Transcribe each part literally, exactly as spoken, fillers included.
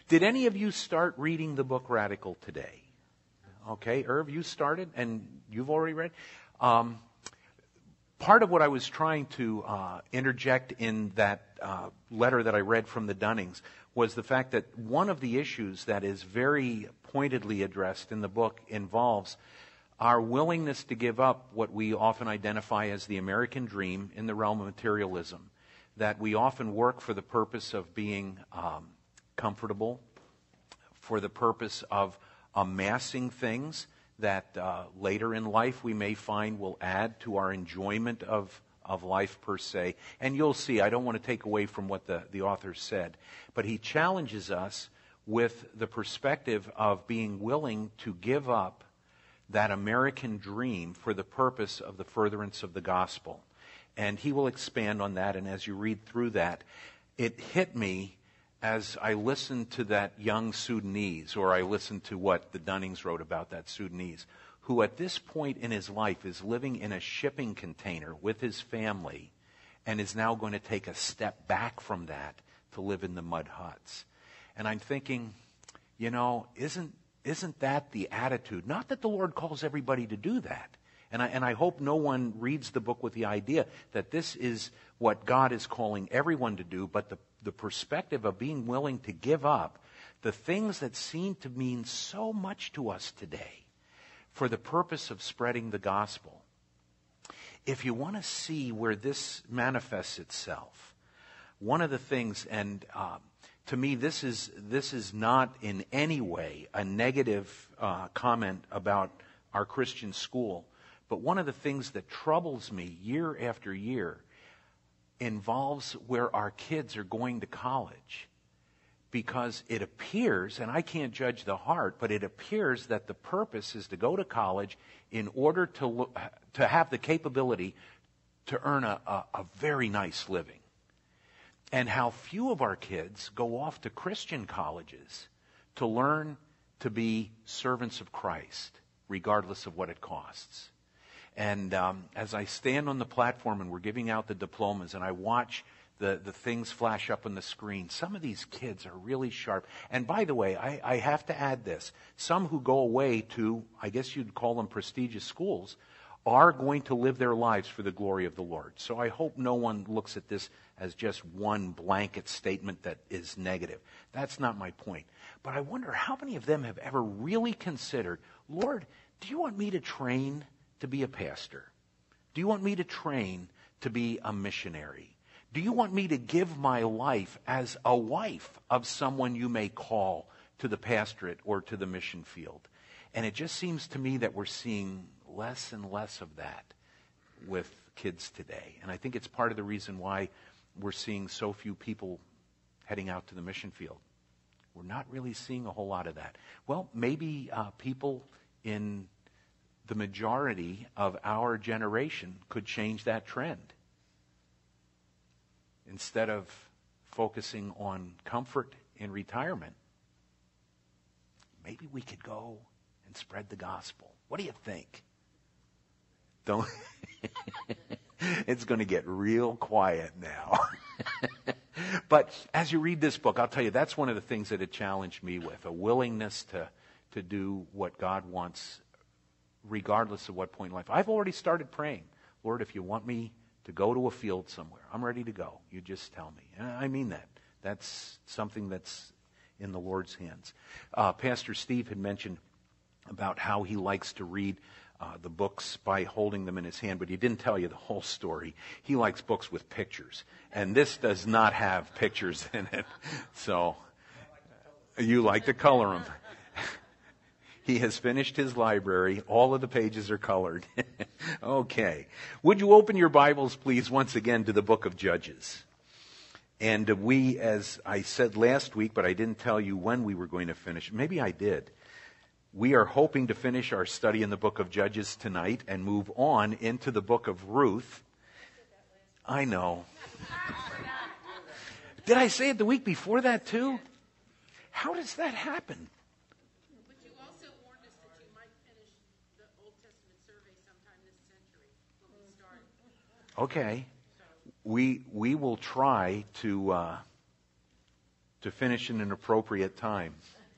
Did any of you start reading the book Radical today? Okay, Irv, you started and you've already read. Um, part of what I was trying to uh, interject in that uh, letter that I read from the Dunnings was the fact that one of the issues that is very pointedly addressed in the book involves our willingness to give up what we often identify as the American dream in the realm of materialism, that we often work for the purpose of being um, comfortable, for the purpose of amassing things that uh, later in life we may find will add to our enjoyment of, of life per se. And you'll see, I don't want to take away from what the, the author said, but he challenges us with the perspective of being willing to give up that American dream for the purpose of the furtherance of the gospel. And he will expand on that, and as you read through that, it hit me as I listened to that young Sudanese, or I listened to what the Dunnings wrote about that Sudanese, who at this point in his life is living in a shipping container with his family and is now going to take a step back from that to live in the mud huts. And I'm thinking, you know, isn't isn't that the attitude? Not that the Lord calls everybody to do that. And I, and I hope no one reads the book with the idea that this is what God is calling everyone to do, but the, the perspective of being willing to give up the things that seem to mean so much to us today for the purpose of spreading the gospel. If you want to see where this manifests itself, one of the things, and um, to me this is this is not in any way a negative uh, comment about our Christian school, but one of the things that troubles me year after year involves where our kids are going to college. Because it appears, and I can't judge the heart, but it appears that the purpose is to go to college in order to look, to have the capability to earn a, a, a very nice living. And how few of our kids go off to Christian colleges to learn to be servants of Christ, regardless of what it costs. And um, as I stand on the platform and we're giving out the diplomas and I watch the, the things flash up on the screen, some of these kids are really sharp. And by the way, I, I have to add this. Some who go away to, I guess you'd call them prestigious schools, are going to live their lives for the glory of the Lord. So I hope no one looks at this as just one blanket statement that is negative. That's not my point. But I wonder how many of them have ever really considered, Lord, do you want me to train to be a pastor? Do you want me to train to be a missionary? Do you want me to give my life as a wife of someone you may call to the pastorate or to the mission field? And it just seems to me that we're seeing less and less of that with kids today. And I think it's part of the reason why we're seeing so few people heading out to the mission field. We're not really seeing a whole lot of that. Well, maybe uh, people in the majority of our generation could change that trend. Instead of focusing on comfort in retirement, maybe we could go and spread the gospel. What do you think? Don't. It's going to get real quiet now. But as you read this book, I'll tell you, that's one of the things that it challenged me with, a willingness to, to do what God wants regardless of what point in life. I've already started praying, Lord, if you want me to go to a field somewhere, I'm ready to go. You just tell me. And I mean that. That's something that's in the Lord's hands. Uh, Pastor Steve had mentioned about how he likes to read uh, the books by holding them in his hand, but he didn't tell you the whole story. He likes books with pictures, and this does not have pictures in it. So you like to color them. He has finished his library. All of the pages are colored. Okay. Would you open your Bibles, please, once again to the book of Judges? And we, as I said last week, but I didn't tell you when we were going to finish. Maybe I did. We are hoping to finish our study in the book of Judges tonight and move on into the book of Ruth. I know. Did I say it the week before that too? How does that happen? Okay, we we will try to uh, to finish in an appropriate time.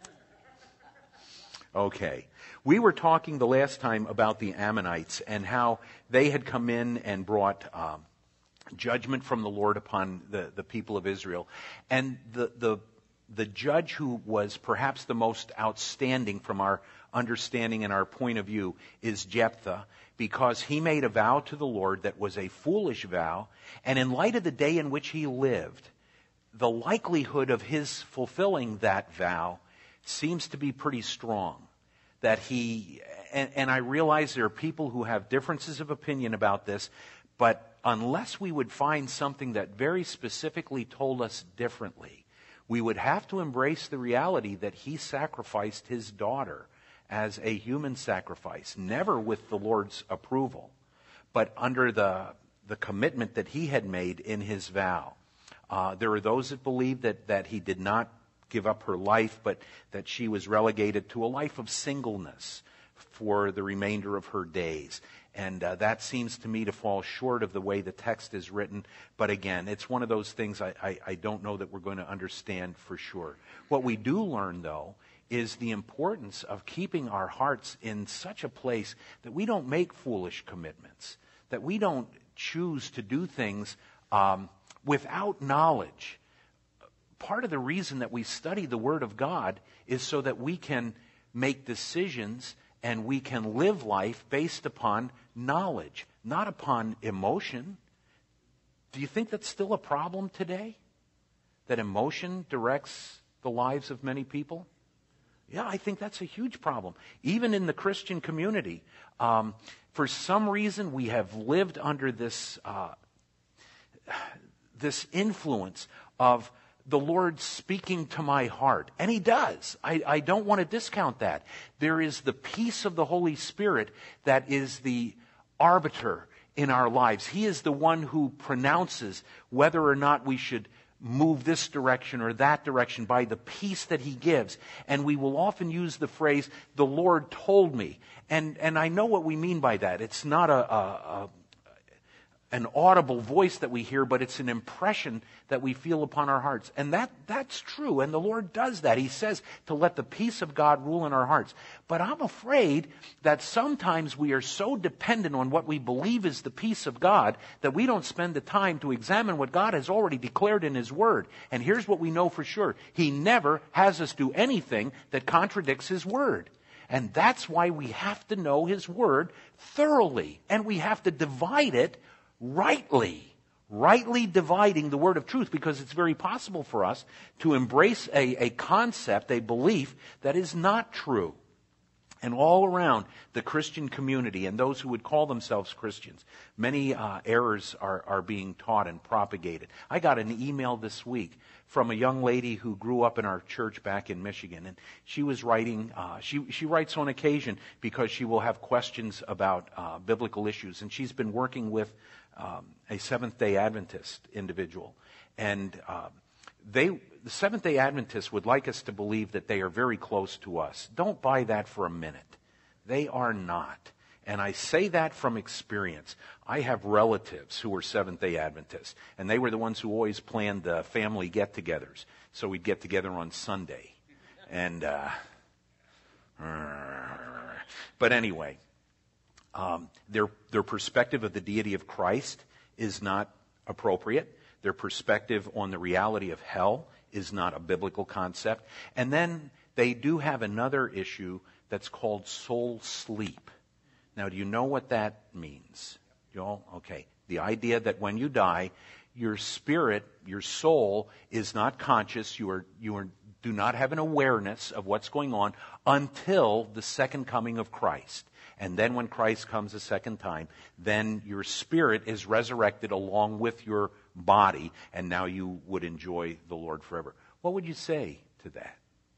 Okay. We were talking the last time about the Ammonites and how they had come in and brought um, judgment from the Lord upon the, the people of Israel. And the, the, the judge who was perhaps the most outstanding from our understanding and our point of view is Jephthah, because he made a vow to the Lord that was a foolish vow. And in light of the day in which he lived, the likelihood of his fulfilling that vow seems to be pretty strong. That he, and, and I realize there are people who have differences of opinion about this, but unless we would find something that very specifically told us differently, we would have to embrace the reality that he sacrificed his daughter as a human sacrifice, never with the Lord's approval, but under the, the commitment that he had made in his vow. Uh, there are those that believe that, that he did not give up her life, but that she was relegated to a life of singleness for the remainder of her days. And uh, that seems to me to fall short of the way the text is written. But again, it's one of those things I, I, I don't know that we're going to understand for sure. What we do learn, though, is the importance of keeping our hearts in such a place that we don't make foolish commitments, that we don't choose to do things um, without knowledge. Part of the reason that we study the Word of God is so that we can make decisions and we can live life based upon knowledge, not upon emotion. Do you think that's still a problem today? That emotion directs the lives of many people? Yeah, I think that's a huge problem. Even in the Christian community, um, for some reason we have lived under this uh, this influence of the Lord speaking to my heart. And He does. I, I don't want to discount that. There is the peace of the Holy Spirit that is the arbiter in our lives. He is the one who pronounces whether or not we should move this direction or that direction by the peace that He gives. And we will often use the phrase, the Lord told me. And, and I know what we mean by that. It's not a, a, a an audible voice that we hear, but it's an impression that we feel upon our hearts. And that that's true, and the Lord does that. He says to let the peace of God rule in our hearts. But I'm afraid that sometimes we are so dependent on what we believe is the peace of God that we don't spend the time to examine what God has already declared in His Word. And here's what we know for sure. He never has us do anything that contradicts His Word. And that's why we have to know His Word thoroughly, and we have to divide it rightly, rightly dividing the word of truth, because it's very possible for us to embrace a, a concept, a belief that is not true. And all around the Christian community and those who would call themselves Christians, many uh, errors are, are being taught and propagated. I got an email this week from a young lady who grew up in our church back in Michigan, and she was writing, uh, she, she writes on occasion because she will have questions about uh, biblical issues, and she's been working with um, a Seventh-day Adventist individual. And uh, they, the Seventh-day Adventists would like us to believe that they are very close to us. Don't buy that for a minute. They are not. And I say that from experience. I have relatives who were Seventh-day Adventists, and they were the ones who always planned the family get-togethers. So we'd get together on Sunday. And, uh, but anyway, um, their, their perspective of the deity of Christ is not appropriate. Their perspective on the reality of hell is not a biblical concept. And then they do have another issue that's called soul sleep. Now, do you know what that means? You all? Okay. The idea that when you die, your spirit, your soul, is not conscious. You are, you are, do not have an awareness of what's going on until the second coming of Christ. And then when Christ comes a second time, then your spirit is resurrected along with your body, and now you would enjoy the Lord forever. What would you say to that?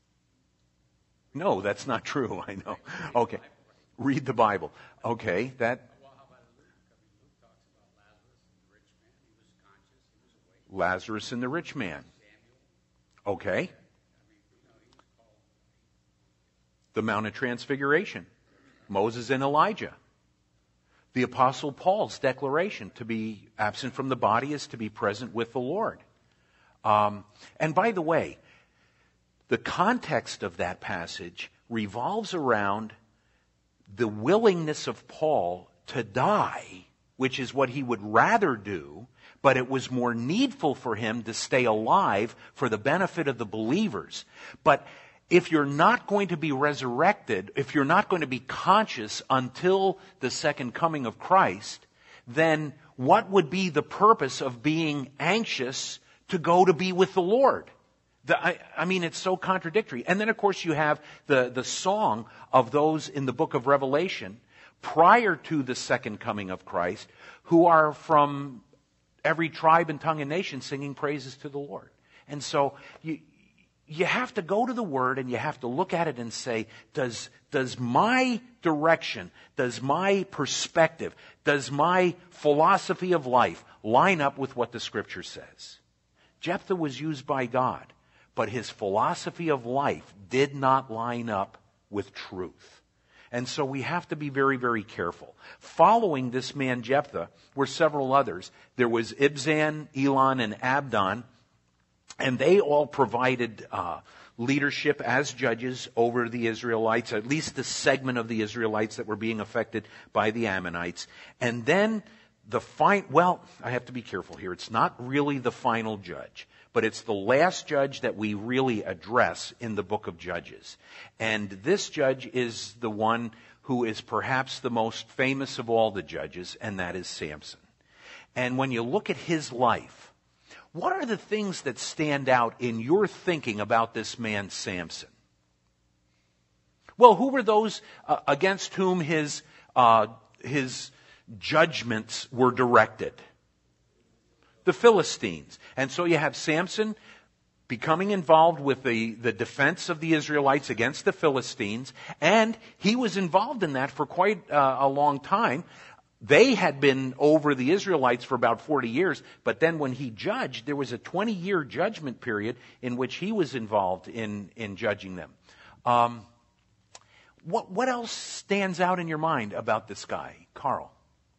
No, that's not true, I know. Okay. Read the Bible. Okay, that... Well, how about Luke? I mean, Luke talks about Lazarus Lazarus, the rich man. He was conscious. He was awake. and the rich man. Samuel. Okay. I mean, you know, he was called. The Mount of Transfiguration. Moses and Elijah. The Apostle Paul's declaration, to be absent from the body is to be present with the Lord. Um, and by the way, the context of that passage revolves around the willingness of Paul to die, which is what he would rather do, but it was more needful for him to stay alive for the benefit of the believers. But if you're not going to be resurrected, if you're not going to be conscious until the second coming of Christ, then what would be the purpose of being anxious to go to be with the Lord? The, I, I mean, it's so contradictory. And then, of course, you have the, the song of those in the book of Revelation prior to the second coming of Christ, who are from every tribe and tongue and nation singing praises to the Lord. And so you, you have to go to the Word and you have to look at it and say, does, does my direction, does my perspective, does my philosophy of life line up with what the Scripture says? Jephthah was used by God, but his philosophy of life did not line up with truth. And so we have to be very, very careful. Following this man Jephthah were several others. There was Ibzan, Elon, and Abdon, and they all provided uh, leadership as judges over the Israelites, at least the segment of the Israelites that were being affected by the Ammonites. And then the fine, well, I have to be careful here. It's not really the final judge, but it's the last judge that we really address in the book of Judges. And this judge is the one who is perhaps the most famous of all the judges, and that is Samson. And when you look at his life, what are the things that stand out in your thinking about this man Samson? Well, who were those uh, against whom his uh, his judgments were directed? The Philistines. And so you have Samson becoming involved with the, the defense of the Israelites against the Philistines, and he was involved in that for quite uh, a long time. They had been over the Israelites for about forty years, but then when he judged, there was a twenty-year judgment period in which he was involved in, in judging them. Um, what, what else stands out in your mind about this guy, Carl?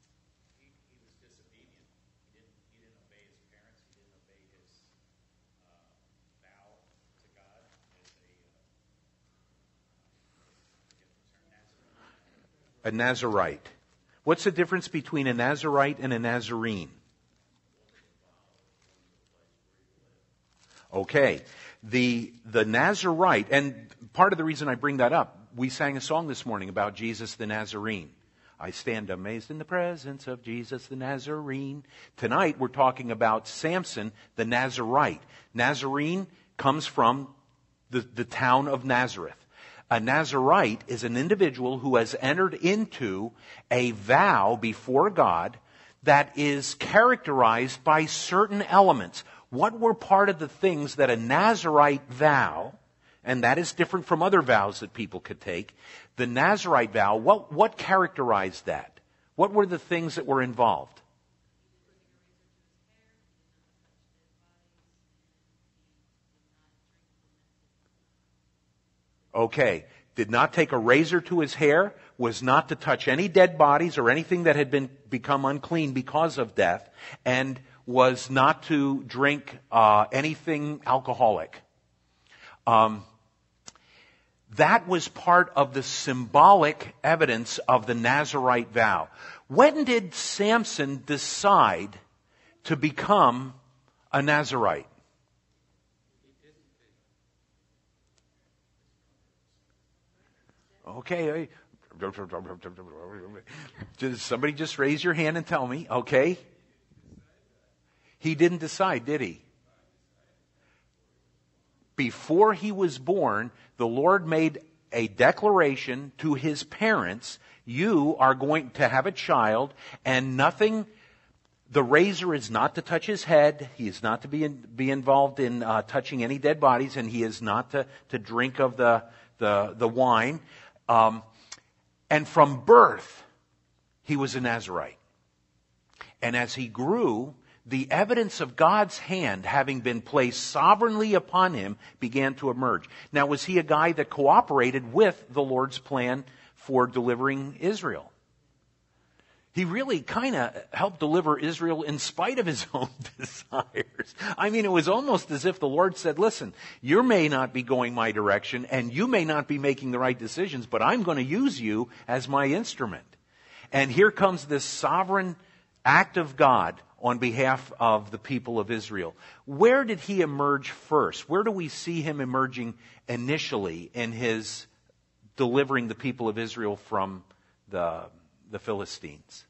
A Nazirite. What's the difference between a Nazirite and a Nazarene? Okay. The, the Nazirite, and part of the reason I bring that up, we sang a song this morning about Jesus the Nazarene. I stand amazed in the presence of Jesus the Nazarene. Tonight we're talking about Samson the Nazirite. Nazarene comes from the, the town of Nazareth. A Nazirite is an individual who has entered into a vow before God that is characterized by certain elements. What were part of the things that a Nazirite vow, and that is different from other vows that people could take, the Nazirite vow, what, what characterized that? What were the things that were involved? Okay. Did not take a razor to his hair, was not to touch any dead bodies or anything that had been become unclean because of death, and was not to drink uh, anything alcoholic. Um, that was part of the symbolic evidence of the Nazirite vow. When did Samson decide to become a Nazirite? Okay. Does somebody just raise your hand and tell me? Okay. He didn't decide, did he? Before he was born, the Lord made a declaration to his parents, you are going to have a child, and nothing, the razor is not to touch his head, he is not to be in, be involved in uh, touching any dead bodies, and he is not to, to drink of the, the, the wine. Um, and from birth, he was a Nazirite. And as he grew, the evidence of God's hand having been placed sovereignly upon him began to emerge. Now, was he a guy that cooperated with the Lord's plan for delivering Israel? He He really kind of helped deliver Israel in spite of his own desires. I mean, it was almost as if the Lord said, listen, you may not be going my direction and you may not be making the right decisions, but I'm going to use you as my instrument. And here comes this sovereign act of God on behalf of the people of Israel. Where did he emerge first? Where do we see him emerging initially in his delivering the people of Israel from the, the Philistines?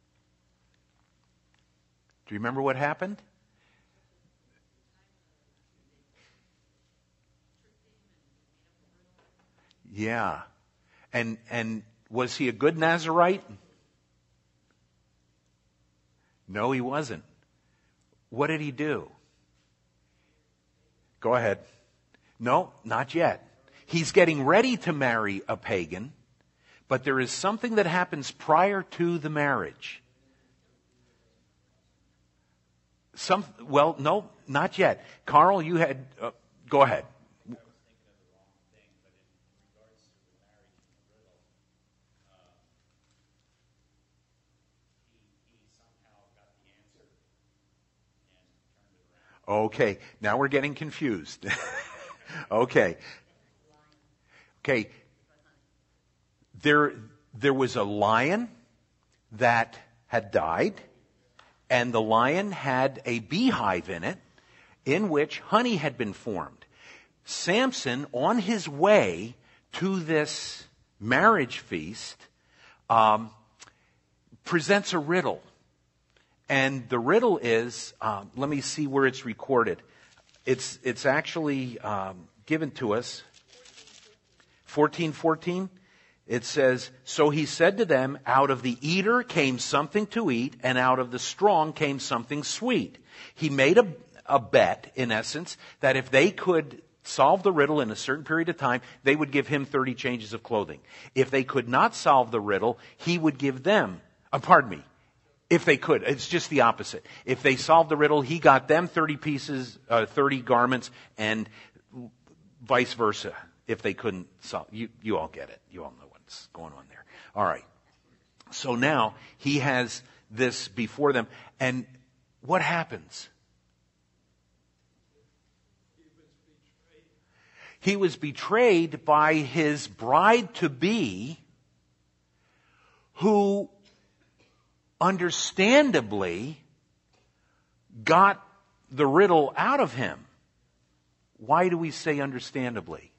Do you remember what happened? Yeah. And and was he a good Nazirite? No, he wasn't. What did he do? Go ahead. No, not yet. He's getting ready to marry a pagan, but there is something that happens prior to the marriage. Some, well, no, not yet. Carl, you had, uh, go ahead. Okay, now we're getting confused. okay. Okay. There, there was a lion that had died, and the lion had a beehive in it in which honey had been formed. Samson, on his way to this marriage feast, um, presents a riddle. And the riddle is, um, let me see where it's recorded. It's it's actually um, given to us. fourteen fourteen. It says, so he said to them, out of the eater came something to eat, and out of the strong came something sweet. He made a, a bet, in essence, that if they could solve the riddle in a certain period of time, they would give him thirty changes of clothing. If they could not solve the riddle, he would give them, uh, pardon me, if they could. It's just the opposite. If they solved the riddle, he got them thirty pieces, uh, thirty garments, and vice versa. If they couldn't solve, you, you all get it. You all know what's going on there. All right. So now he has this before them, and what happens? He was betrayed by his bride-to-be, who understandably got the riddle out of him. Why do we say understandably?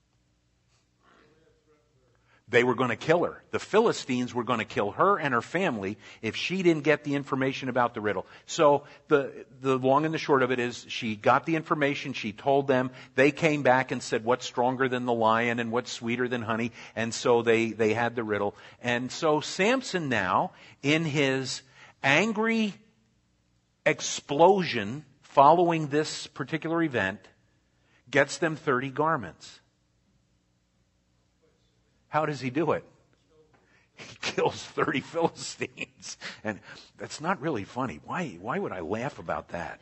They were going to kill her. The Philistines were going to kill her and her family if she didn't get the information about the riddle. So the the long and the short of it is, she got the information, she told them, they came back and said, what's stronger than the lion and what's sweeter than honey? And so they, they had the riddle. And so Samson now, in his angry explosion following this particular event, gets them thirty garments. How does he do it? He kills thirty Philistines. And that's not really funny. Why, why would I laugh about that?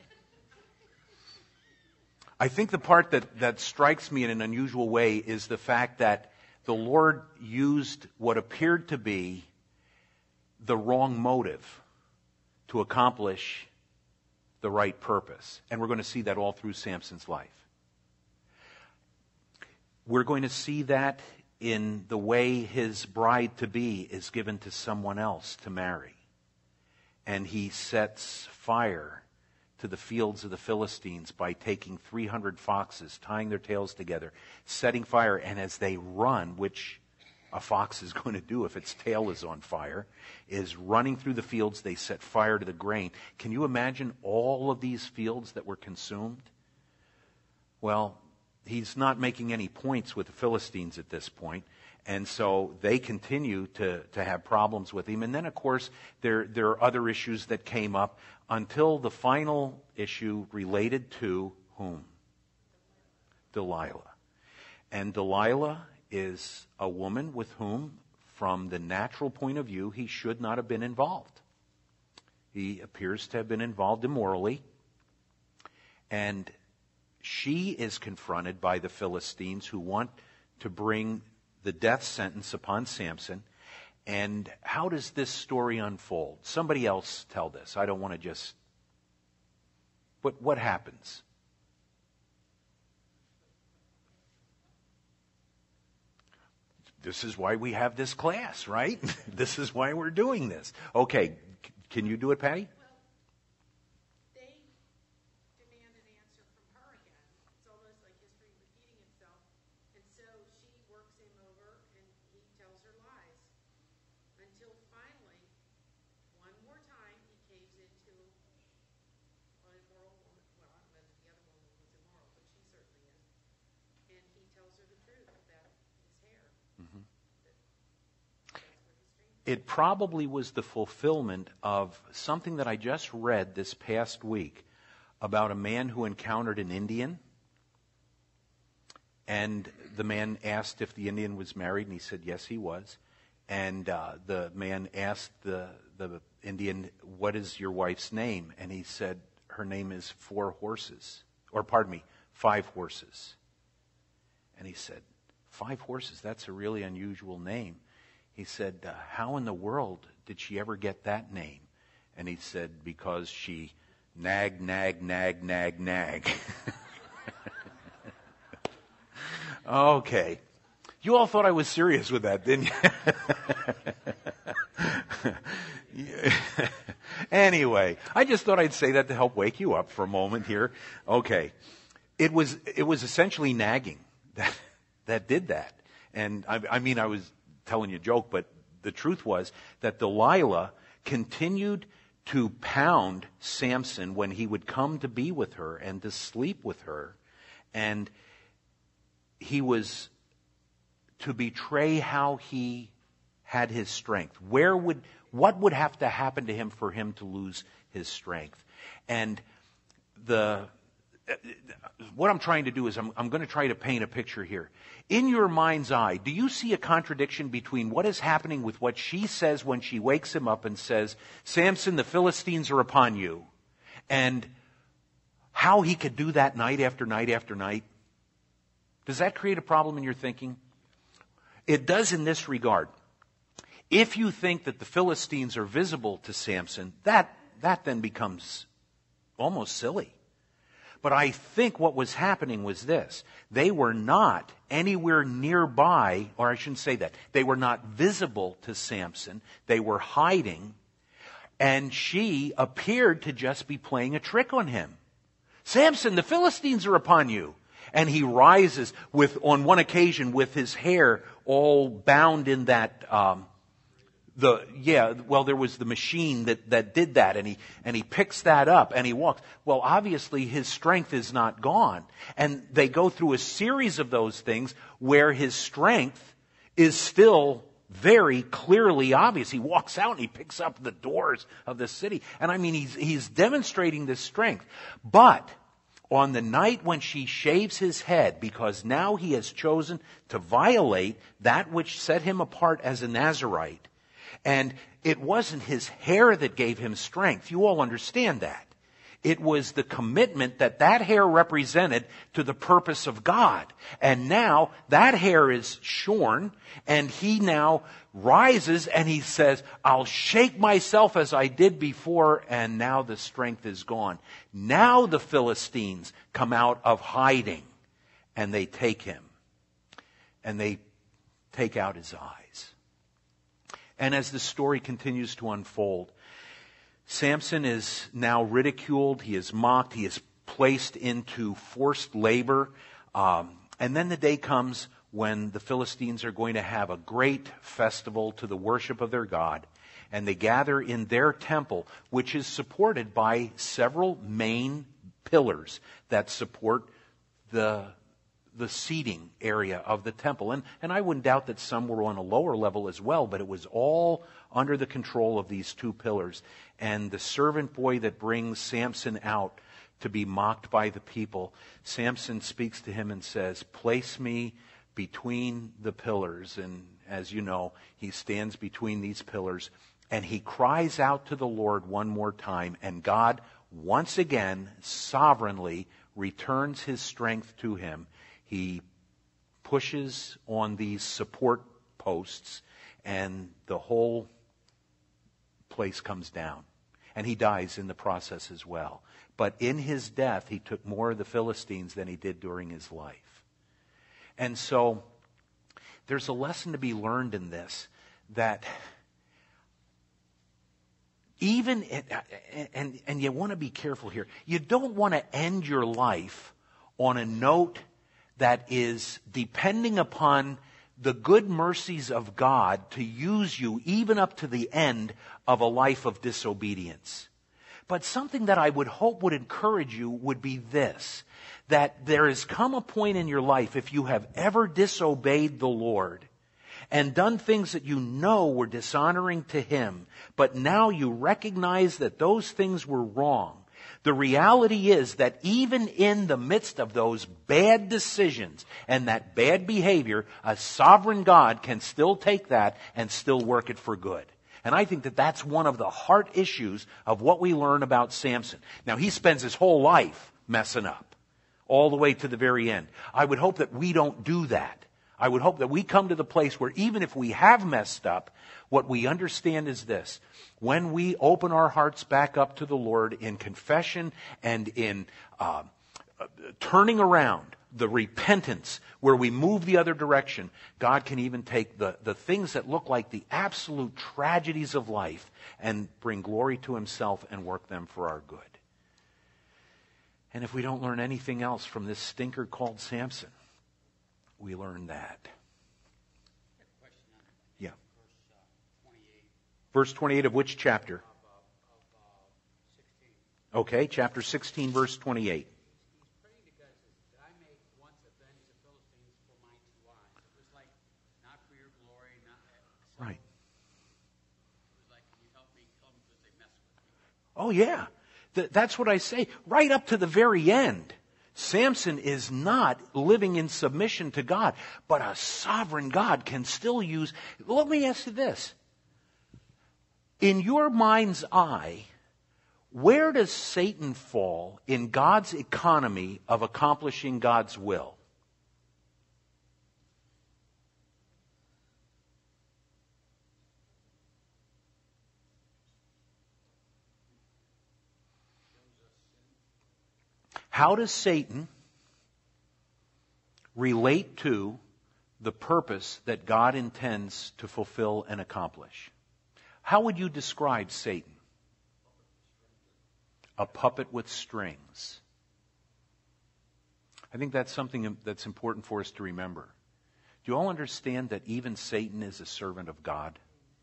I think the part that, that strikes me in an unusual way is the fact that the Lord used what appeared to be the wrong motive to accomplish the right purpose. And we're going to see that all through Samson's life. We're going to see that in the way his bride-to-be is given to someone else to marry. And he sets fire to the fields of the Philistines by taking three hundred foxes, tying their tails together, setting fire, and as they run, which a fox is going to do if its tail is on fire, is running through the fields, they set fire to the grain. Can you imagine all of these fields that were consumed? Well, he's not making any points with the Philistines at this point, and so they continue to, to have problems with him. And then, of course, there, there are other issues that came up until the final issue related to whom? Delilah. And Delilah is a woman with whom, from the natural point of view, he should not have been involved. He appears to have been involved immorally, and she is confronted by the Philistines, who want to bring the death sentence upon Samson. And how does this story unfold? Somebody else tell this. I don't want to just... What, what happens? This is why we have this class, right? This is why we're doing this. Okay, c- can you do it, Patty? Well, they demand an answer from her again. It's almost like history repeating itself. And so she works him over and he tells her lies. Until finally, one more time, he caves into an immoral woman. Well, I don't know if the other woman was immoral, but she certainly is. And he tells her the truth about his hair. Mm-hmm. That, that's where his strength It probably was the fulfillment of something that I just read this past week about a man who encountered an Indian. And the man asked if the Indian was married, and he said yes, he was. And uh, the man asked the, the Indian, what is your wife's name? And he said, her name is Four Horses. Or pardon me, Five Horses. And he said, Five Horses, that's a really unusual name. He said, uh, how in the world did she ever get that name? And he said, because she nag, nag, nag, nag, nag. Okay. You all thought I was serious with that, didn't you? Anyway, I just thought I'd say that to help wake you up for a moment here. Okay. It was, it was essentially nagging that, that did that. And I, I mean, I was telling you a joke, but the truth was that Delilah continued to pound Samson when he would come to be with her and to sleep with her. And he was to betray how he had his strength. Where would, what would have to happen to him for him to lose his strength? And the, what I'm trying to do is I'm, I'm going to try to paint a picture here. In your mind's eye, do you see a contradiction between what is happening with what she says when she wakes him up and says, Samson, the Philistines are upon you, and how he could do that night after night after night? Does that create a problem in your thinking? It does in this regard. If you think that the Philistines are visible to Samson, that, that then becomes almost silly. But I think what was happening was this. They were not anywhere nearby, or I shouldn't say that. They were not visible to Samson. They were hiding. And she appeared to just be playing a trick on him. Samson, the Philistines are upon you. And he rises with, on one occasion, with his hair all bound in that, um, the, yeah, well, there was the machine that, that did that, and he, and he picks that up and he walks. Well, obviously his strength is not gone. And they go through a series of those things where his strength is still very clearly obvious. He walks out and he picks up the doors of the city. And I mean, he's, he's demonstrating this strength. But on the night when she shaves his head, because now he has chosen to violate that which set him apart as a Nazirite, and it wasn't his hair that gave him strength. You all understand that. It was the commitment that that hair represented to the purpose of God. And now that hair is shorn, and he now rises and he says, I'll shake myself as I did before, and now the strength is gone. Now the Philistines come out of hiding, and they take him, and they take out his eyes. And as the story continues to unfold, Samson is now ridiculed, he is mocked, he is placed into forced labor. Um, and then the day comes when the Philistines are going to have a great festival to the worship of their God. And they gather in their temple, which is supported by several main pillars that support the the seating area of the temple. And, and I wouldn't doubt that some were on a lower level as well, but it was all under the control of these two pillars. And the servant boy that brings Samson out to be mocked by the people, Samson speaks to him and says, place me between the pillars. And as you know, he stands between these pillars and he cries out to the Lord one more time. And God, once again, sovereignly returns his strength to him. He pushes on these support posts, and the whole place comes down. And he dies in the process as well. But in his death, he took more of the Philistines than he did during his life. And so there's a lesson to be learned in this, that even, and, and you want to be careful here, you don't want to end your life on a note that is depending upon the good mercies of God to use you even up to the end of a life of disobedience. But something that I would hope would encourage you would be this, that there has come a point in your life, if you have ever disobeyed the Lord and done things that you know were dishonoring to Him, but now you recognize that those things were wrong. The reality is that even in the midst of those bad decisions and that bad behavior, a sovereign God can still take that and still work it for good. And I think that that's one of the heart issues of what we learn about Samson. Now, he spends his whole life messing up, all the way to the very end. I would hope that we don't do that. I would hope that we come to the place where even if we have messed up, what we understand is this. When we open our hearts back up to the Lord in confession and in uh, uh, turning around, the repentance, where we move the other direction, God can even take the, the things that look like the absolute tragedies of life and bring glory to Himself and work them for our good. And if we don't learn anything else from this stinker called Samson, we learn that. Yeah. Verse twenty-eight of which chapter? Okay, chapter sixteen, verse twenty-eight. Right. Oh, yeah. Th- that's what I say. Right up to the very end. Samson is not living in submission to God, but a sovereign God can still use. Let me ask you this. In your mind's eye, where does Satan fall in God's economy of accomplishing God's will? How does Satan relate to the purpose that God intends to fulfill and accomplish? How would you describe Satan? A puppet with strings. I think that's something that's important for us to remember. Do you all understand that even Satan is a servant of God?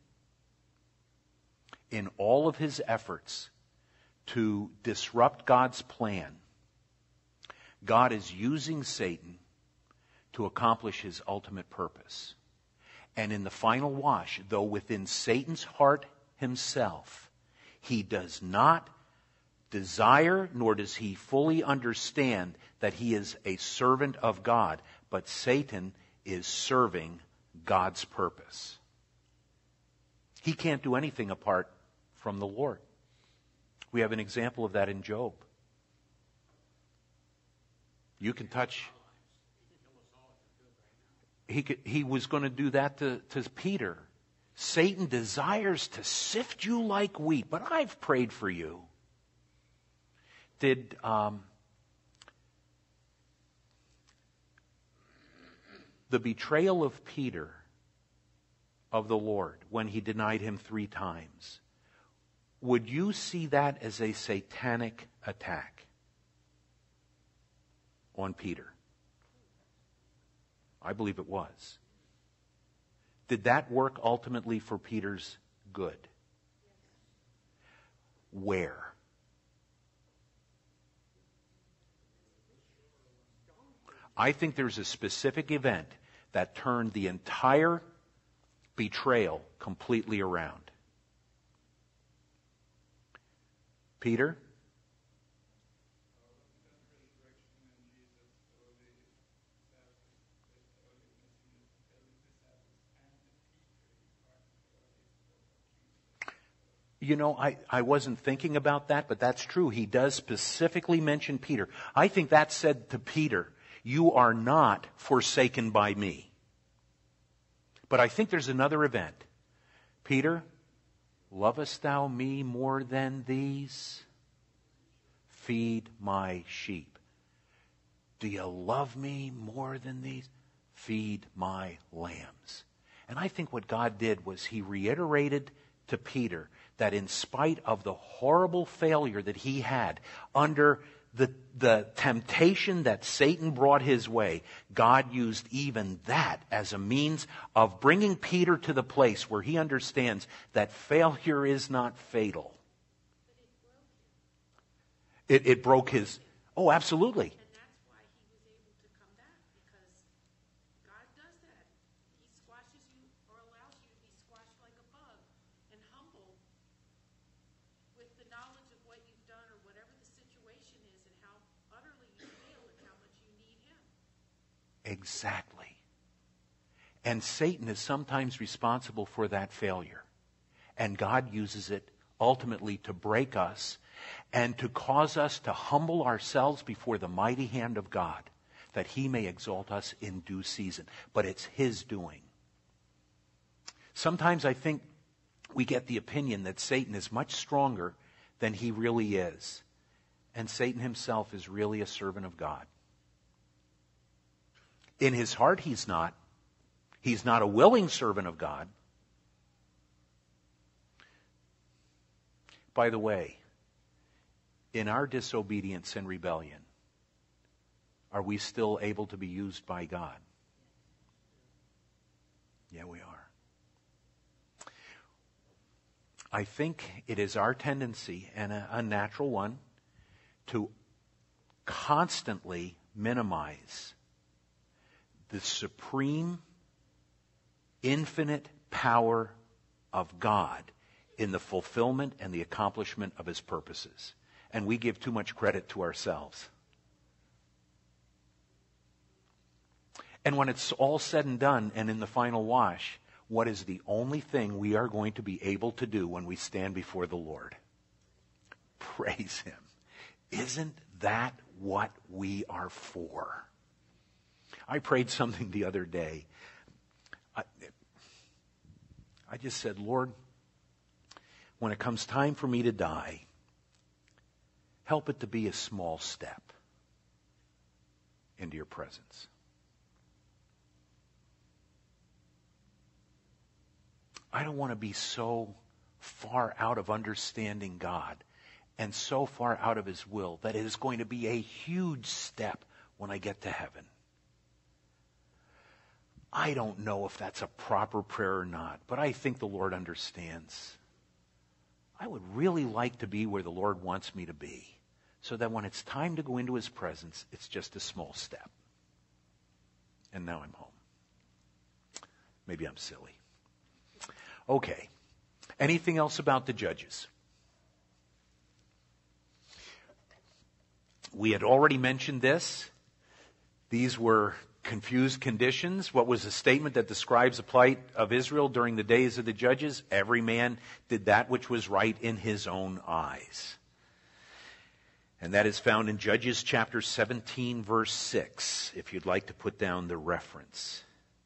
In all of his efforts to disrupt God's plan, God is using Satan to accomplish His ultimate purpose. And in the final wash, though within Satan's heart himself, he does not desire, nor does he fully understand that he is a servant of God, but Satan is serving God's purpose. He can't do anything apart from the Lord. We have an example of that in Job. You can touch. He could, he was going to do that to, to Peter. Satan desires to sift you like wheat, but I've prayed for you. Did um, the betrayal of Peter of the Lord when he denied Him three times, would you see that as a satanic attack on Peter? I believe it was. Did that work ultimately for Peter's good? Where? I think there's a specific event that turned the entire betrayal completely around. Peter? You know, I, I wasn't thinking about that, but that's true. He does specifically mention Peter. I think that said to Peter, you are not forsaken by me. But I think there's another event. Peter, lovest thou me more than these? Feed my sheep. Do you love me more than these? Feed my lambs. And I think what God did was he reiterated to Peter that in spite of the horrible failure that he had under the, the temptation that Satan brought his way, God used even that as a means of bringing Peter to the place where he understands that failure is not fatal. It, it broke his... Oh, absolutely. And that's why he was able to come back, because God does that. He squashes you or allows you to be squashed like a bug and humble with the knowledge of what you've done or whatever the situation is and how utterly you fail and how much you need him. Exactly. And Satan is sometimes responsible for that failure. And God uses it ultimately to break us and to cause us to humble ourselves before the mighty hand of God, that he may exalt us in due season. But it's his doing. Sometimes I think we get the opinion that Satan is much stronger than he really is. And Satan himself is really a servant of God. In his heart, he's not. He's not a willing servant of God. By the way, in our disobedience and rebellion, are we still able to be used by God? Yeah, we are. I think it is our tendency, and a, a natural one, to constantly minimize the supreme, infinite power of God in the fulfillment and the accomplishment of his purposes. And we give too much credit to ourselves. And when it's all said and done and in the final wash, what is the only thing we are going to be able to do when we stand before the Lord? Praise him. Isn't that what we are for? I prayed something the other day. I, I just said, Lord, when it comes time for me to die, help it to be a small step into your presence. I don't want to be so far out of understanding God and so far out of his will that it is going to be a huge step when I get to heaven. I don't know if that's a proper prayer or not, but I think the Lord understands. I would really like to be where the Lord wants me to be, so that when it's time to go into his presence, it's just a small step. And now I'm home. Maybe I'm silly. Okay. Anything else about the judges? We had already mentioned this. These were confused conditions. What was the statement that describes the plight of Israel during the days of the judges? Every man did that which was right in his own eyes. And that is found in Judges chapter seventeen, verse six, if you'd like to put down the reference.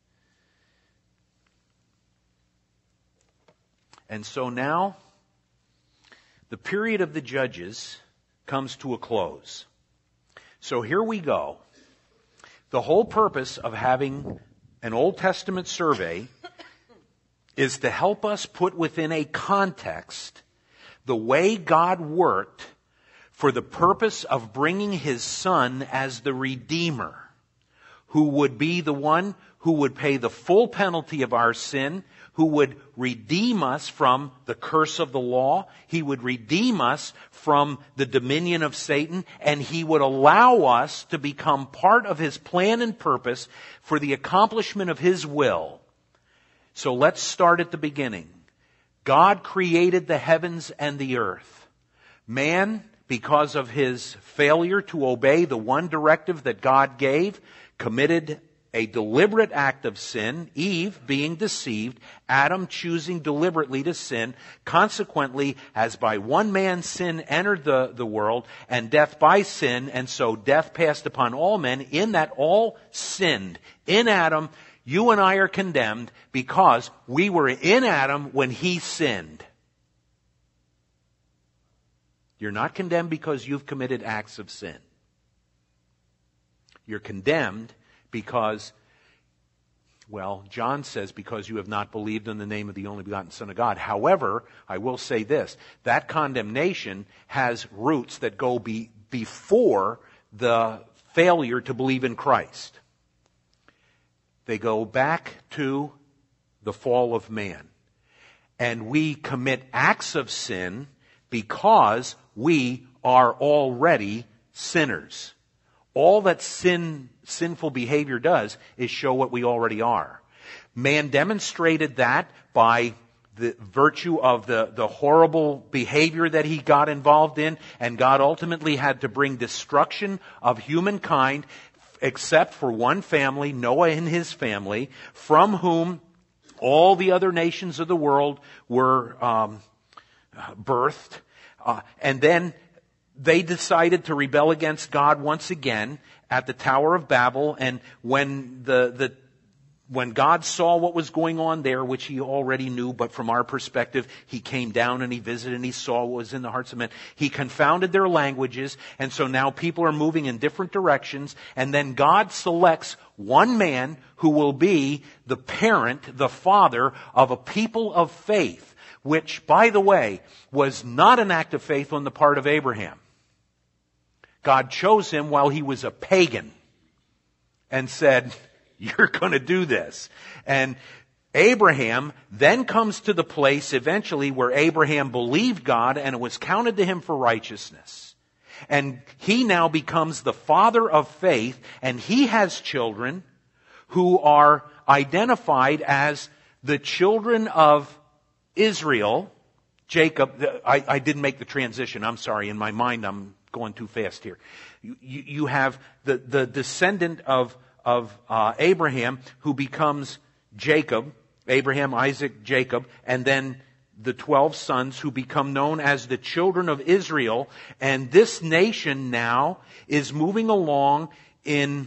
And so now, the period of the judges comes to a close. So here we go. The whole purpose of having an Old Testament survey is to help us put within a context the way God worked for the purpose of bringing his Son as the Redeemer, who would be the one who would pay the full penalty of our sin, who would redeem us from the curse of the law. He would redeem us from the dominion of Satan, and he would allow us to become part of his plan and purpose for the accomplishment of his will. So let's start at the beginning. God created the heavens and the earth. Man, because of his failure to obey the one directive that God gave, committed a deliberate act of sin, Eve being deceived, Adam choosing deliberately to sin. Consequently, as by one man's sin entered the, the world, and death by sin, and so death passed upon all men, in that all sinned. In Adam, You and I are condemned because we were in Adam when he sinned. You're not condemned because you've committed acts of sin. You're condemned because, well, John says, because you have not believed in the name of the only begotten Son of God. However, I will say this, that condemnation has roots that go be, before the failure to believe in Christ. They go back to the fall of man. And we commit acts of sin because we are already sinners. All that sin, sinful behavior does is show what we already are. Man demonstrated that by the virtue of the, the horrible behavior that he got involved in, and God ultimately had to bring destruction of humankind, except for one family, Noah and his family, from whom all the other nations of the world were um, birthed. Uh, and then they decided to rebel against God once again at the Tower of Babel. And when the, the when God saw what was going on there, which he already knew, but from our perspective, he came down and he visited and he saw what was in the hearts of men. He confounded their languages, and so now people are moving in different directions. And then God selects one man who will be the parent, the father of a people of faith, which, by the way, was not an act of faith on the part of Abraham. God chose him while he was a pagan and said, you're going to do this. And Abraham then comes to the place eventually where Abraham believed God and it was counted to him for righteousness. And he now becomes the father of faith, and he has children who are identified as the children of Israel. Jacob, I, I didn't make the transition. I'm sorry. In my mind, I'm going too fast here. You, you, you have the, the descendant of, of uh, Abraham who becomes Jacob, Abraham, Isaac, Jacob, and then the twelve sons who become known as the children of Israel. And this nation now is moving along in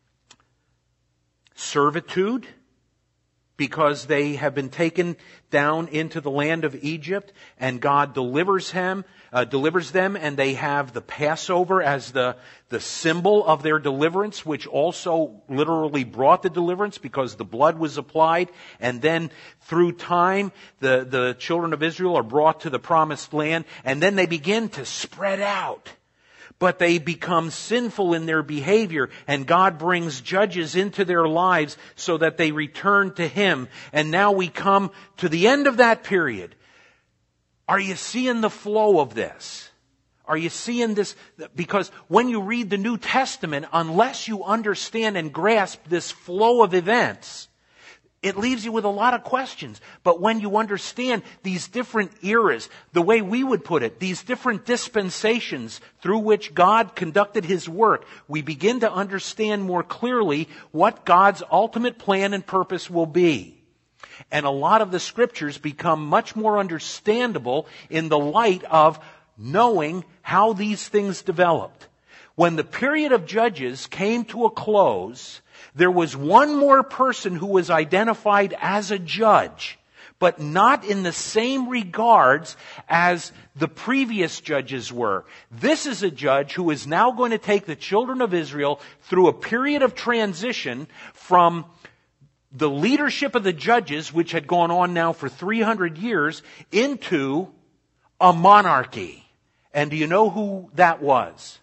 servitude, because they have been taken down into the land of Egypt, and God delivers him, uh, delivers them, and they have the Passover as the, the symbol of their deliverance, which also literally brought the deliverance because the blood was applied. And then through time, the, the children of Israel are brought to the promised land, and then they begin to spread out. But they become sinful in their behavior, and God brings judges into their lives so that they return to Him. And now we come to the end of that period. Are you seeing the flow of this? Are you seeing this? Because when you read the New Testament, unless you understand and grasp this flow of events, it leaves you with a lot of questions. But when you understand these different eras, the way we would put it, these different dispensations through which God conducted His work, we begin to understand more clearly what God's ultimate plan and purpose will be. And a lot of the scriptures become much more understandable in the light of knowing how these things developed. When the period of Judges came to a close, there was one more person who was identified as a judge, but not in the same regards as the previous judges were. This is a judge who is now going to take the children of Israel through a period of transition from the leadership of the judges, which had gone on now for three hundred years, into a monarchy. And do you know who that was?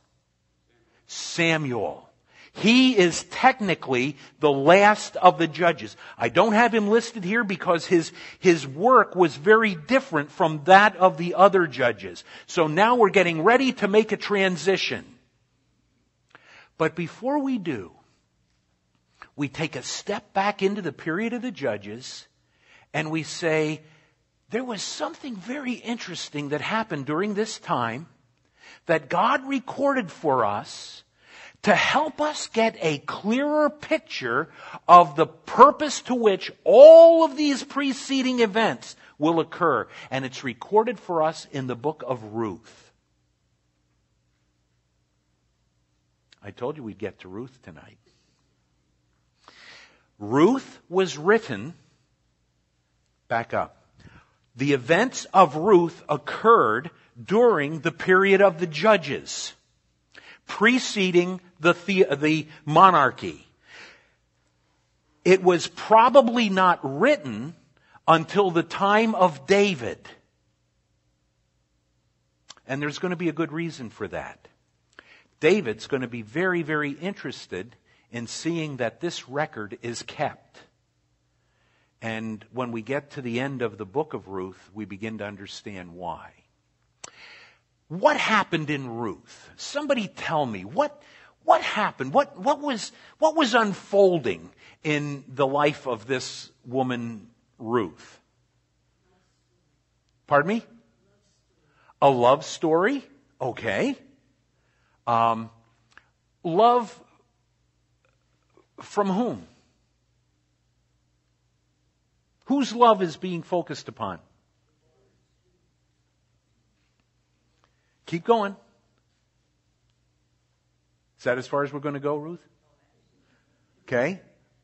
Samuel. He is technically the last of the judges. I don't have him listed here because his, his work was very different from that of the other judges. So now we're getting ready to make a transition. But before we do, we take a step back into the period of the judges and we say, there was something very interesting that happened during this time that God recorded for us to help us get a clearer picture of the purpose to which all of these preceding events will occur. And it's recorded for us in the book of Ruth. I told you we'd get to Ruth tonight. Ruth was written, back up. The events of Ruth occurred during the period of the judges, preceding the, the, the monarchy. It was probably not written until the time of David. And there's going to be a good reason for that. David's going to be very, very interested in seeing that this record is kept. And when we get to the end of the book of Ruth, we begin to understand why. What happened in Ruth? Somebody tell me, what, what happened? What, what was, what was unfolding in the life of this woman, Ruth? Pardon me? A love story? Okay. Um, love from whom? Whose love is being focused upon? Keep going. Is that as far as we're going to go, Ruth? Okay.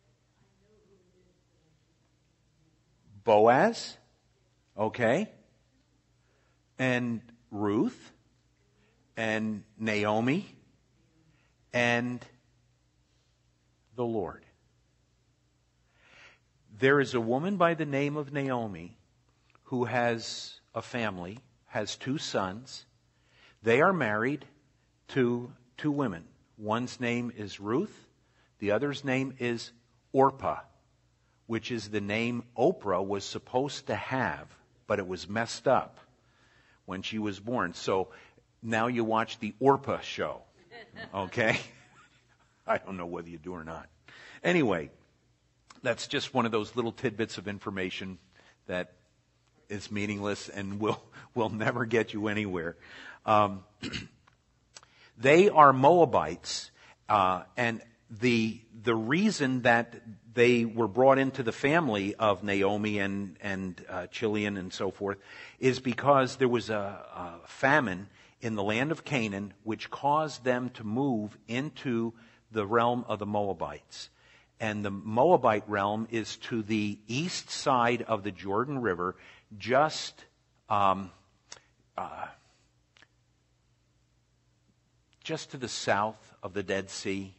Boaz. Okay. And Ruth. And Naomi. And the Lord. There is a woman by the name of Naomi who has a family, has two sons. They are married to two women. One's name is Ruth. The other's name is Orpah, which is the name Oprah was supposed to have, but it was messed up when she was born. So now you watch the Orpah show. Okay? I don't know whether you do or not. Anyway, that's just one of those little tidbits of information that is meaningless and will will never get you anywhere. Um, they are Moabites, uh, and the the reason that they were brought into the family of Naomi and and uh, Chilion and so forth is because there was a, a famine in the land of Canaan, which caused them to move into the realm of the Moabites. And the Moabite realm is to the east side of the Jordan River, just um, uh, just to the south of the Dead Sea.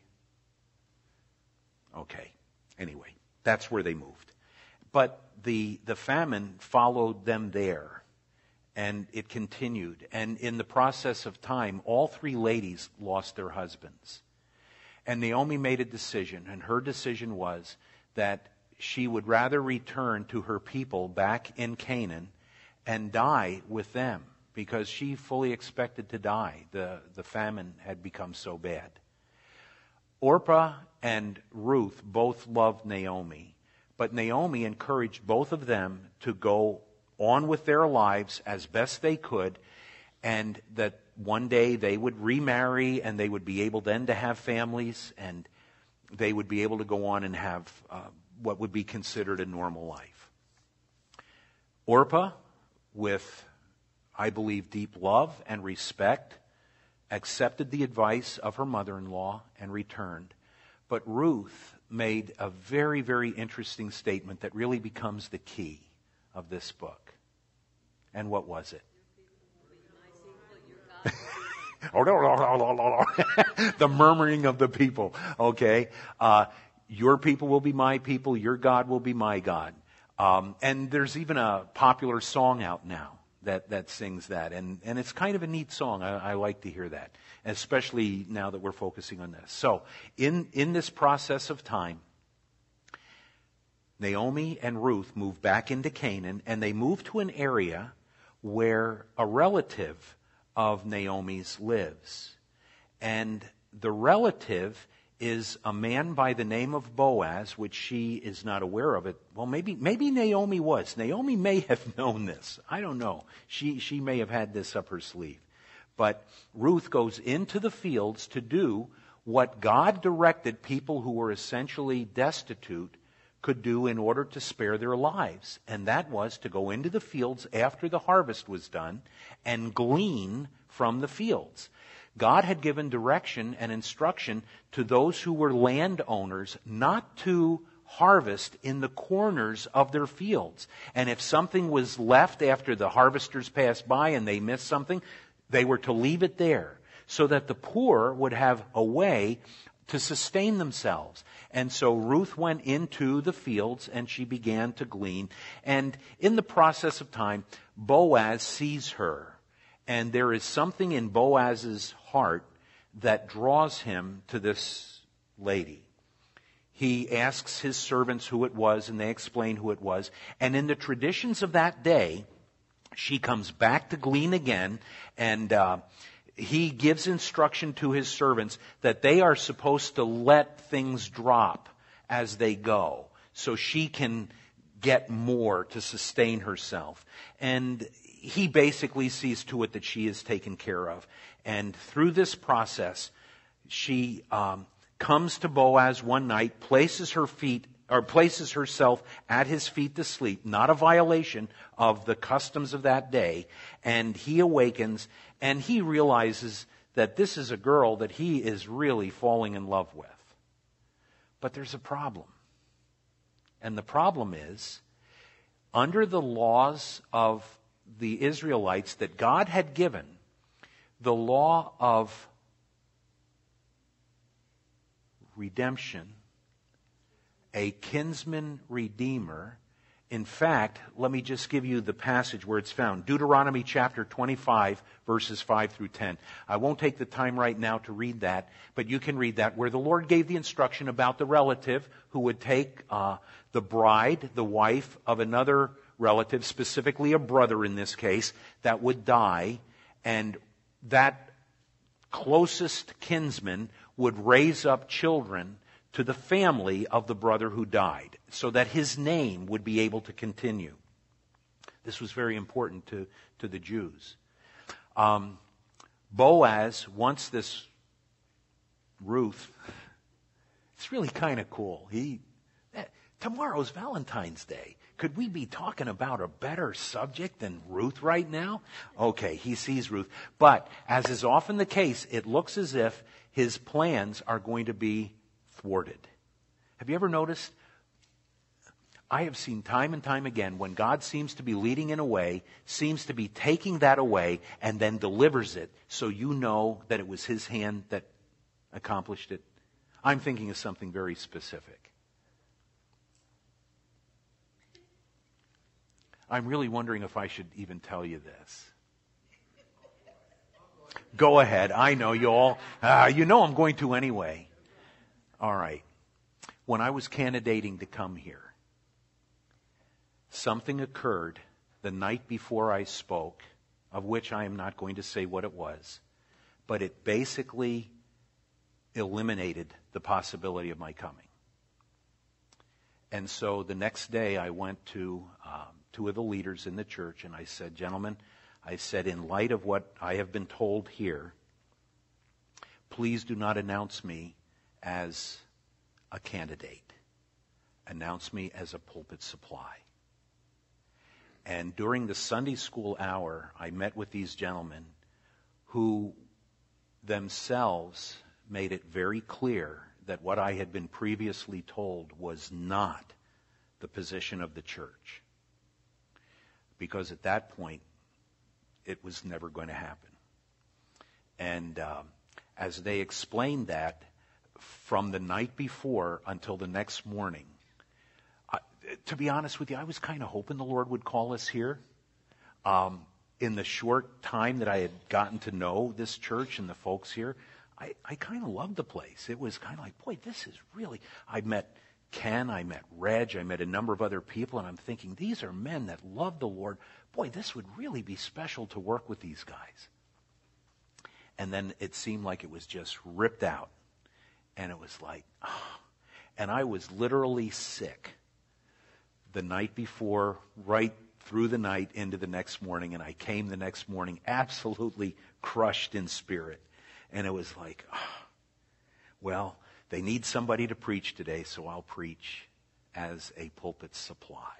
Okay. Anyway, that's where they moved. But the the famine followed them there, and it continued. And in the process of time, all three ladies lost their husbands. And Naomi made a decision, and her decision was that she would rather return to her people back in Canaan and die with them, because she fully expected to die. The, the famine had become so bad. Orpah and Ruth both loved Naomi, but Naomi encouraged both of them to go on with their lives as best they could, and that one day they would remarry and they would be able then to have families, and they would be able to go on and have uh, what would be considered a normal life. Orpah, with, I believe, deep love and respect, accepted the advice of her mother-in-law and returned. But Ruth made a very, very interesting statement that really becomes the key of this book. And what was it? The murmuring of the people. Okay, uh, your people will be my people. Your God will be my God. Um, and there's even a popular song out now that that sings that, and and it's kind of a neat song. I, I like to hear that, especially now that we're focusing on this. So in in this process of time, Naomi and Ruth moved back into Canaan, and they moved to an area where a relative of Naomi's lives. And the relative is a man by the name of Boaz, which she is not aware of it. Well, maybe maybe Naomi was. Naomi may have known this. I don't know. She she may have had this up her sleeve. But Ruth goes into the fields to do what God directed people who were essentially destitute could do in order to spare their lives. And that was to go into the fields after the harvest was done and glean from the fields. God had given direction and instruction to those who were landowners not to harvest in the corners of their fields. And if something was left after the harvesters passed by and they missed something, they were to leave it there so that the poor would have a way to sustain themselves. And so Ruth went into the fields and she began to glean. And in the process of time, Boaz sees her. And there is something in Boaz's heart that draws him to this lady. He asks his servants who it was, and they explain who it was. And in the traditions of that day, she comes back to glean again, and uh, he gives instruction to his servants that they are supposed to let things drop as they go, so she can get more to sustain herself. And he basically sees to it that she is taken care of. And through this process, she um, comes to Boaz one night, places her feet or places herself at his feet to sleep, not a violation of the customs of that day. And he awakens and he realizes that this is a girl that he is really falling in love with. But there's a problem. And the problem is, under the laws of the Israelites that God had given, the law of redemption, a kinsman redeemer. In fact, let me just give you the passage where it's found. Deuteronomy chapter twenty-five, verses five through ten. I won't take the time right now to read that, but you can read that, where the Lord gave the instruction about the relative who would take uh, the bride, the wife of another relative, specifically a brother in this case, that would die, and that closest kinsman would raise up children to the family of the brother who died, so that his name would be able to continue. This was very important to, to the Jews. Um, Boaz wants this Ruth. It's really kind of cool. He tomorrow's Valentine's Day. Could we be talking about a better subject than Ruth right now? Okay, he sees Ruth. But, as is often the case, it looks as if his plans are going to be thwarted. Have you ever noticed? I have seen time and time again when God seems to be leading in a way, seems to be taking that away, and then delivers it, so you know that it was his hand that accomplished it. I'm thinking of something very specific. I'm really wondering if I should even tell you this. Go ahead. I know you all. Uh, you know I'm going to anyway. All right. When I was candidating to come here, something occurred the night before I spoke, of which I am not going to say what it was, but it basically eliminated the possibility of my coming. And so the next day I went to um, two of the leaders in the church and I said, gentlemen, I said, in light of what I have been told here, please do not announce me as a candidate. Announce me as a pulpit supply. And during the Sunday school hour, I met with these gentlemen who themselves made it very clear that what I had been previously told was not the position of the church. Because at that point, it was never going to happen. And um, as they explained that, from the night before until the next morning, I, to be honest with you, I was kind of hoping the Lord would call us here. Um, in the short time that I had gotten to know this church and the folks here, I, I kind of loved the place. It was kind of like, boy, this is really... I met Ken, I met Reg, I met a number of other people, and I'm thinking, these are men that love the Lord. Boy, this would really be special to work with these guys. And then it seemed like it was just ripped out. And it was like, oh. And I was literally sick the night before, right through the night into the next morning. And I came the next morning absolutely crushed in spirit. And it was like, oh, well, they need somebody to preach today, so I'll preach as a pulpit supply.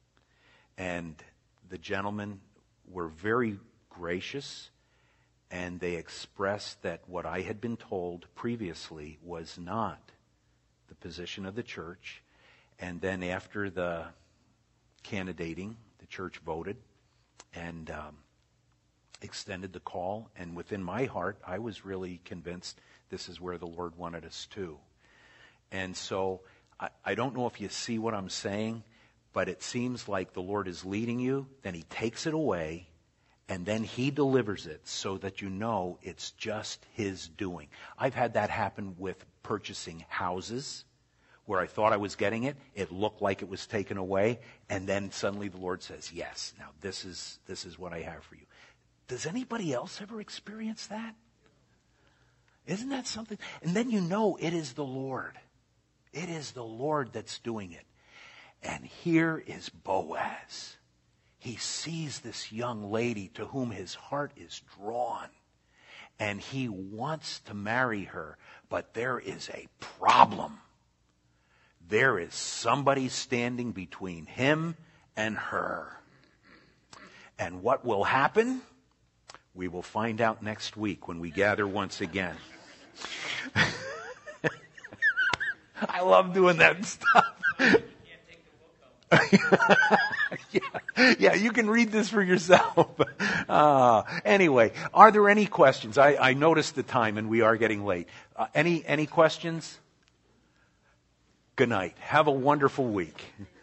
And the gentlemen were very gracious, and they expressed that what I had been told previously was not the position of the church. And then after the candidating, the church voted and um, extended the call. And within my heart, I was really convinced this is where the Lord wanted us to. And so I, I don't know if you see what I'm saying, but it seems like the Lord is leading you, then he takes it away, and then he delivers it so that you know it's just his doing. I've had that happen with purchasing houses where I thought I was getting it. It looked like it was taken away, and then suddenly the Lord says, yes, now this is this is what I have for you. Does anybody else ever experience that? Isn't that something? And then you know it is the Lord. It is the Lord that's doing it. And here is Boaz. He sees this young lady to whom his heart is drawn. And he wants to marry her. But there is a problem. There is somebody standing between him and her. And what will happen? We will find out next week when we gather once again. I love doing that stuff. yeah, yeah, you can read this for yourself. Uh, anyway, are there any questions? I, I noticed the time and we are getting late. Uh, any any questions? Good night. Have a wonderful week.